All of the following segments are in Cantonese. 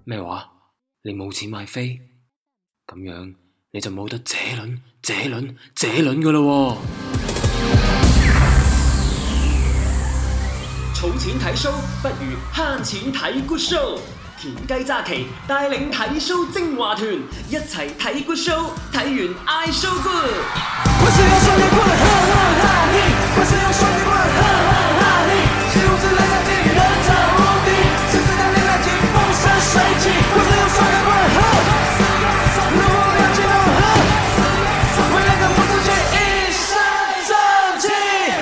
咩話？你冇錢買飛？咁樣你就冇得這輪㗎喇喎！ 儲錢睇 show 不如慳錢睇 good show。田雞揸旗帶領睇 show 精華團，一齊睇 good show， 睇完嗌 show good。我是要雙截棍，哈哈哈嘿！我是要雙截棍，哈哈哈嘿！是如此人生際遇，人潮無敵，是自當年來勁風生水起。我是要雙截棍，哈！如果要激動，哈！為了跟不出去，一身正氣。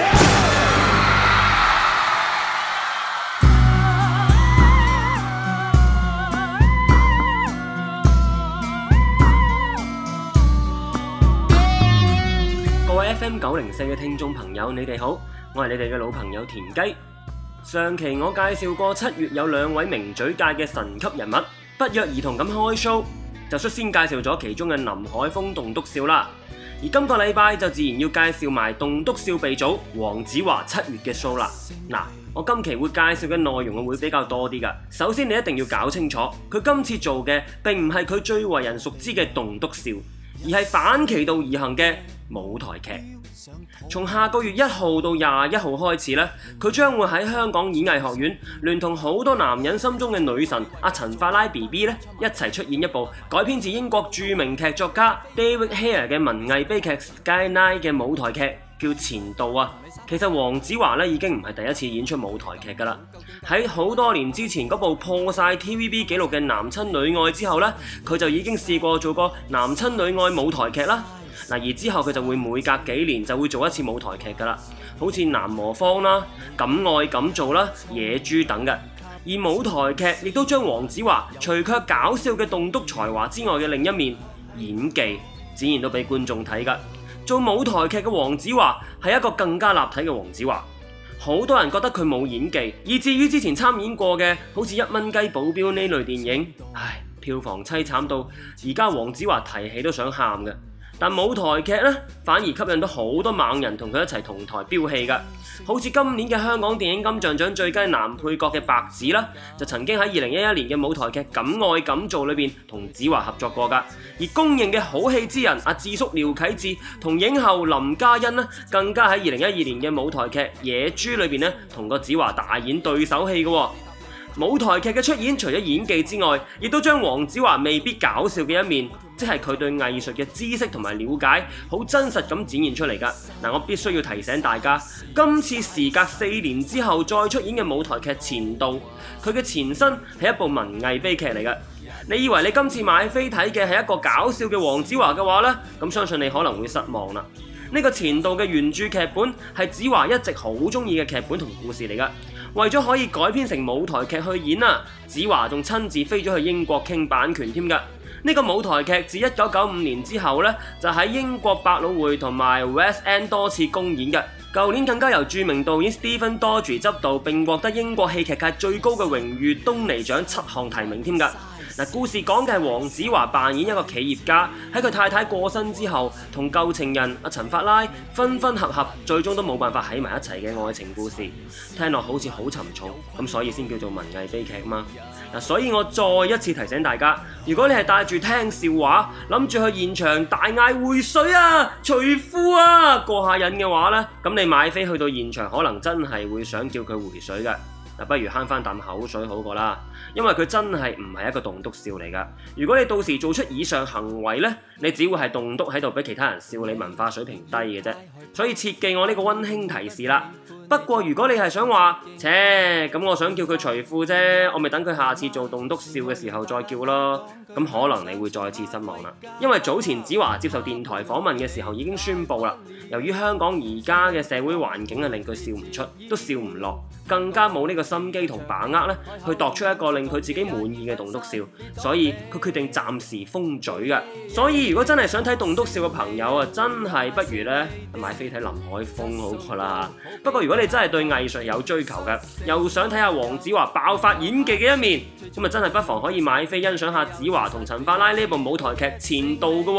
各位 FM 904嘅聽眾朋友，你哋好，我係你哋嘅老朋友田雞。上期我介紹過7月有2位名嘴界嘅神級人物，不約而同咁開 show，就率先介紹咗其中嘅林海峰棟篤笑啦。而今個禮拜就自然要介紹埋棟篤笑鼻祖黃子華7月嘅 show 啦。嗱，我今期會介紹嘅內容會比較多啲㗎。首先你一定要搞清楚，佢今次做嘅並唔係佢最為人熟知嘅棟篤笑，而係反其道而行嘅舞台劇。從下個月1號到21號開始呢，佢將會喺香港演藝學院聯同好多男人心中嘅女神阿陳法拉 BB 呢一齊出演一部改編自英國著名劇作家 David Hare 嘅文藝悲劇 Skyline 嘅舞台劇，叫前度啊。其實黃子華呢已經唔係第一次演出舞台劇㗎啦。喺好多年之前嗰部破晒 TVB 紀錄嘅男親女愛之後呢，佢就已經試過做過男親女愛舞台劇啦。而之後佢就會每隔幾年就會做一次舞台劇㗎啦，好似南無方啦、敢愛敢做啦、野豬等嘅。而舞台劇亦都將黃子華除卻搞笑嘅棟篤才華之外嘅另一面演技展現到俾觀眾睇㗎。做舞台劇嘅黃子華係一個更加立體嘅黃子華。好多人覺得佢冇演技，以至於之前參演過嘅好似1蚊雞保鏢呢類電影，票房凄慘到而家黃子華提起都想喊嘅。但舞台劇呢，反而吸引到好多猛人同佢一齊同台飆戲㗎。好似今年嘅香港電影金像獎最佳男配角嘅白只啦，就曾經喺2011年嘅舞台劇《敢愛敢做》裏邊同子華合作過㗎。而公認嘅好戲之人阿智叔廖啟智同影后林嘉欣呢，更加喺2012年嘅舞台劇《野豬》裏邊呢，同個子華大演對手戲㗎喎。舞台劇嘅出演，除咗演技之外，亦都將黃子華未必搞笑嘅一面，即係佢對藝術嘅知識同埋了解，好真實咁展現出嚟㗎。我必須要提醒大家，今次時隔4年之後再出演嘅舞台劇《前度》，佢嘅前身係一部文藝悲劇嚟㗎。你以為你今次買飛睇嘅係一個搞笑嘅黃子華嘅話呢，咁相信你可能會失望啦。呢個《前度》嘅原著劇本係子華一直好中意嘅劇本同故事嚟㗎。為咗可以改編成舞台劇去演啊，子華仲親自飛咗去英國傾版權添㗎。呢個舞台劇自1995年之後呢，就喺英國百老匯同埋 West End 多次公演嘅。舊年更加由著名導演 Stephen Daldry 執導，並獲得英國戲劇界最高嘅榮譽東尼獎7項提名添㗎。故事講嘅係黃子華扮演一個企業家，喺佢太太過身之後，同舊情人阿陳法拉分分合合，最終都冇辦法喺埋一齊嘅愛情故事。聽落好似好沉重，咁所以先叫做文藝悲劇嘛。所以我再一次提醒大家，如果你係帶住聽笑話，諗住去現場大嗌回水啊、除褲啊過下癮嘅話呢，咁你買飛去到現場，可能真係會想叫佢回水㗎。不如慳返啖口水好過啦，因為佢真係唔係一個棟篤笑嚟㗎。如果你到時做出以上行為呢，你只會係棟篤喺度俾其他人笑你文化水平低嘅啫。所以切記我呢個溫馨提示啦。不過如果你係想話，咁我想叫佢除褲啫，我咪等佢下次做棟篤笑嘅時候再叫咯。咁可能你會再次失望啦，因為早前子華接受電台訪問嘅時候已經宣布啦，由於香港而家嘅社會環境令佢笑唔出，都笑唔落，更加冇呢個心機同把握咧，去度出一個令佢自己滿意嘅棟篤笑，所以佢決定暫時封嘴嘅。所以如果真係想睇棟篤笑嘅朋友啊，真係不如咧買飛睇林海峰好過啦。不過如果你真係對藝術有追求嘅，又想睇下黃子華爆發演技嘅一面，咁真係不妨可以買飛欣賞下子華同陳法拉呢部舞台劇《前度》嘅喎。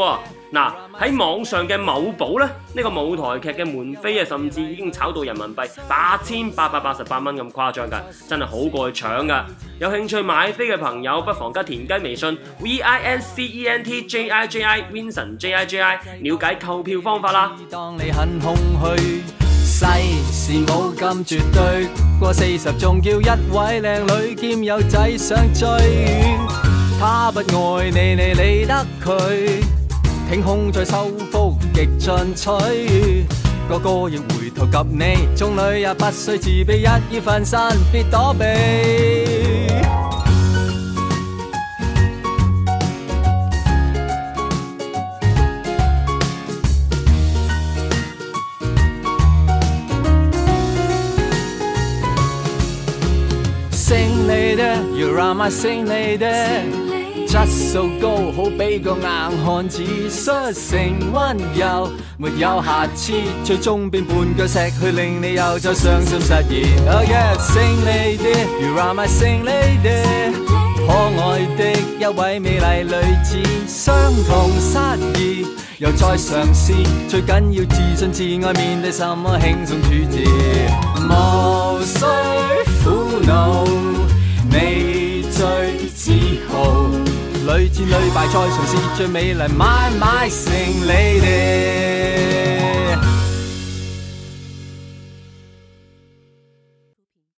嗱，喺網上嘅某寶呢，呢個舞台劇嘅門飛啊，甚至已經炒到人民幣8888蚊咁誇張㗎，真係好過去搶㗎。有興趣買飛嘅朋友，不妨加田雞微信 VINCENTJIJI Vincent JIJI 了解購票方法啦。 當你很空虛，世事冇咁絕對，過40仲叫一位靚女兼有仔想追，他不愛你，你理得佢？挺胸再收腹極進取，個個亦回頭及你，眾女也不需自卑，一於分身別躲避。Sing lady, you are my sing lady。質素高，好比個硬漢子，率性溫柔，沒有瑕疵，最終變絆腳石去令你又再傷心失意。Oh yeah, sing lady, you are my sing lady， 可愛的一位美麗女子，相同失意，又再嘗試，最緊要自信自愛，面對什麼輕鬆處置，無需苦惱，你最自豪。屢戰屢敗再嘗試，最美麗買成你哋。